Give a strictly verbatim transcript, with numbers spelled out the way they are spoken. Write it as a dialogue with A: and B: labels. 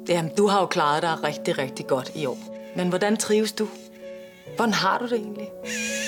A: Jamen, du har jo klaret dig rigtig, rigtig godt i år. Men hvordan trives du? Hvordan har du det egentlig?